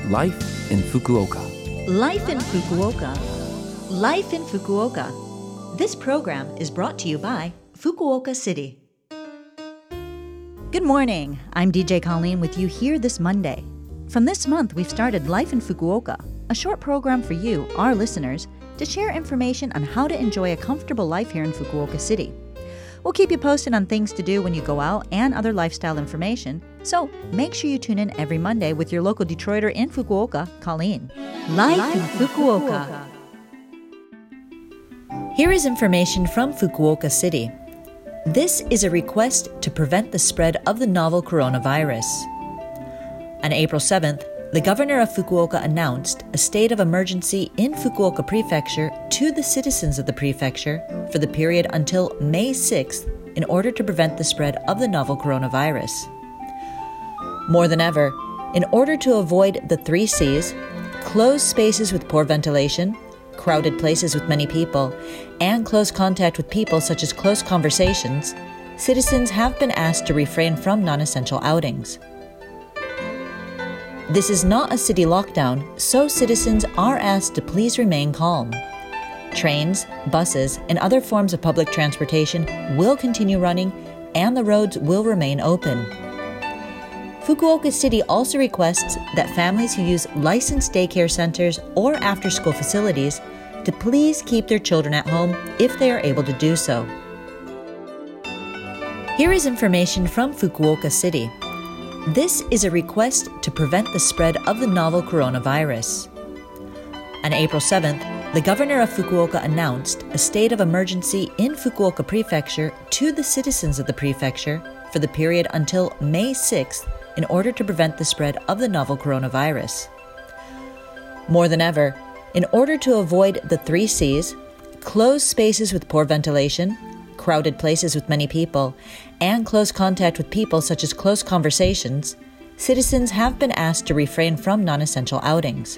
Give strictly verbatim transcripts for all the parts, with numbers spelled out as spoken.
Life in Fukuoka. Life in Fukuoka. Life in Fukuoka. This program is brought to you by Fukuoka City. Good morning. I'm D J Colleen with you here this Monday. From this month, we've started Life in Fukuoka, a short program for you, our listeners, to share information on how to enjoy a comfortable life here in Fukuoka City. We'll keep you posted on things to do when you go out and other lifestyle information, so make sure you tune in every Monday with your local Detroiter in Fukuoka, Colleen. Life, Life in Fukuoka. Fukuoka. Here is information from Fukuoka City. This is a request to prevent the spread of the novel coronavirus. On April seventh, the governor of Fukuoka announced a state of emergency in Fukuoka Prefecture to the citizens of the prefecture for the period until May sixth in order to prevent the spread of the novel coronavirus. More than ever, in order to avoid the three C's, closed spaces with poor ventilation, crowded places with many people, and close contact with people such as close conversations, citizens have been asked to refrain from non-essential outings. This is not a city lockdown, so citizens are asked to please remain calm. Trains, buses, and other forms of public transportation will continue running, and the roads will remain open. Fukuoka City also requests that families who use licensed daycare centers or after-school facilities to please keep their children at home if they are able to do so. Here is information from Fukuoka City. This is a request to prevent the spread of the novel coronavirus. On April seventh, the governor of Fukuoka announced a state of emergency in Fukuoka Prefecture to the citizens of the prefecture for the period until May sixth in order to prevent the spread of the novel coronavirus. More than ever, in order to avoid the three C's, closed spaces with poor ventilation, crowded places with many people, and close contact with people such as close conversations, citizens have been asked to refrain from non-essential outings.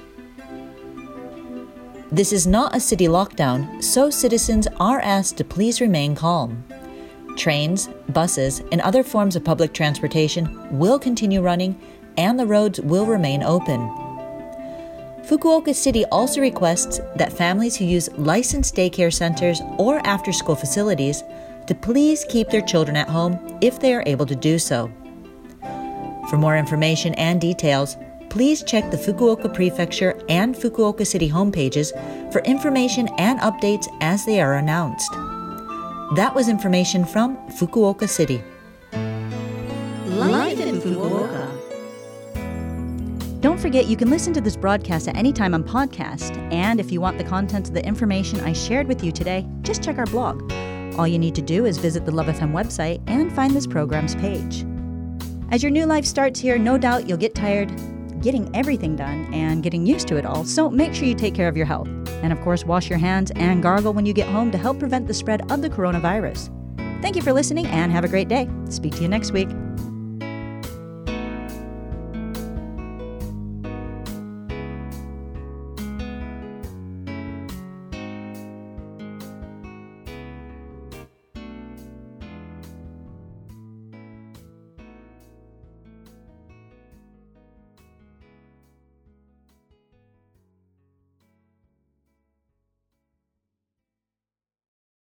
This is not a city lockdown, so citizens are asked to please remain calm. Trains, buses, and other forms of public transportation will continue running, and the roads will remain open. Fukuoka City also requests that families who use licensed daycare centers or after-school facilities to please keep their children at home if they are able to do so. For more information and details, please check the Fukuoka Prefecture and Fukuoka City homepages for information and updates as they are announced. That was information from Fukuoka City. Life in Fukuoka. Don't forget you can listen to this broadcast at any time on podcast, and if you want the contents of the information I shared with you today, just check our blog. All you need to do is visit the Love F M website and find this program's page. As your new life starts here, no doubt you'll get tired getting everything done and getting used to it all, so make sure you take care of your health. And of course, wash your hands and gargle when you get home to help prevent the spread of the coronavirus. Thank you for listening and have a great day. Speak to you next week.